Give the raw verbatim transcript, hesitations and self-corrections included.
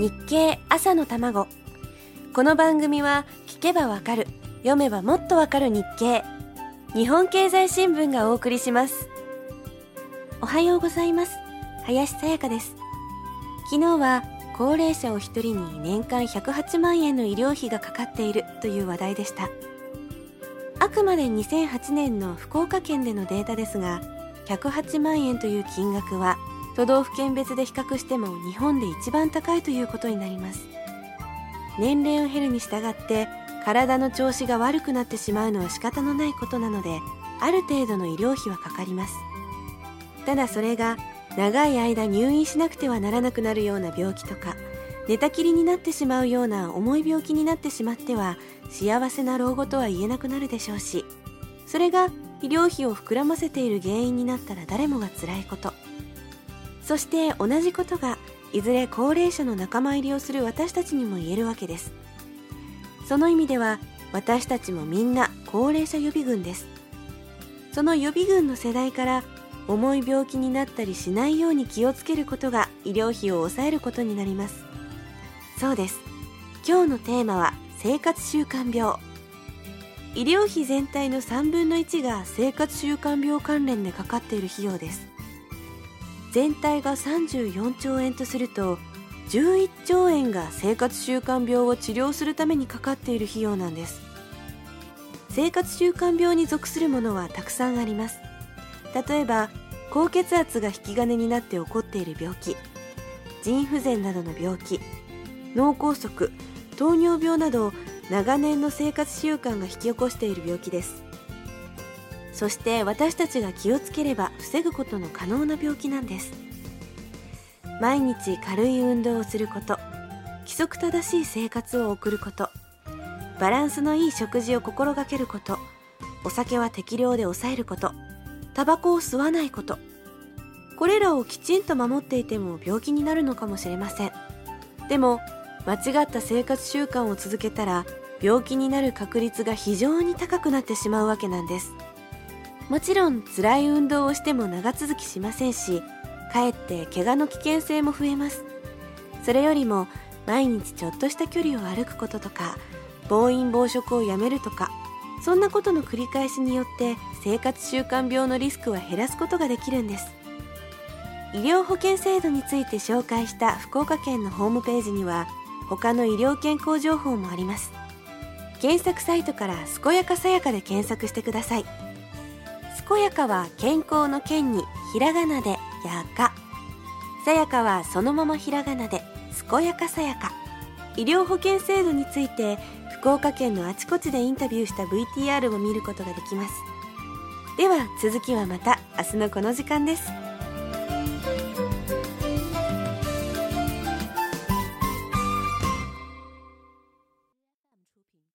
日経朝の卵。この番組は聞けばわかる、読めばもっとわかる日経、日本経済新聞がお送りします。おはようございます。林さやかです。昨日は高齢者お一人に年間ひゃくはちまんえんの医療費がかかっているという話題でした。あくまでにせんはちねんの福岡県でのデータですが、ひゃくはちまんえんという金額は都道府県別で比較しても日本で一番高いということになります。年齢を経るに従って体の調子が悪くなってしまうのは仕方のないことなので、ある程度の医療費はかかります。ただそれが長い間入院しなくてはならなくなるような病気とか、寝たきりになってしまうような重い病気になってしまっては幸せな老後とは言えなくなるでしょうし、それが医療費を膨らませている原因になったら誰もが辛いこと。そして同じことがいずれ高齢者の仲間入りをする私たちにも言えるわけです。その意味では私たちもみんな高齢者予備軍です。その予備軍の世代から重い病気になったりしないように気をつけることが医療費を抑えることになります。そうです。今日のテーマは生活習慣病。医療費全体のさんぶんのいちが生活習慣病関連でかかっている費用です。全体がさんじゅうよんちょうえんとすると、じゅういっちょうえんが生活習慣病を治療するためにかかっている費用なんです。生活習慣病に属するものはたくさんあります。例えば高血圧が引き金になって起こっている病気、腎不全などの病気、脳梗塞、糖尿病など長年の生活習慣が引き起こしている病気です。そして私たちが気をつければ防ぐことの可能な病気なんです。毎日軽い運動をすること、規則正しい生活を送ること、バランスのいい食事を心がけること、お酒は適量で抑えること、タバコを吸わないこと。これらをきちんと守っていても病気になるのかもしれません。でも間違った生活習慣を続けたら病気になる確率が非常に高くなってしまうわけなんです。もちろん辛い運動をしても長続きしませんし、かえって怪我の危険性も増えます。それよりも毎日ちょっとした距離を歩くこととか、暴飲暴食をやめるとか、そんなことの繰り返しによって生活習慣病のリスクは減らすことができるんです。医療保険制度について紹介した福岡県のホームページには他の医療健康情報もあります。検索サイトから「健やかさやか」で検索してください。健やかは健康の健にひらがなでやか、さやかはそのままひらがなで健やかさやか。医療保険制度について福岡県のあちこちでインタビューした ブイティーアール を見ることができます。では続きはまた明日のこの時間です。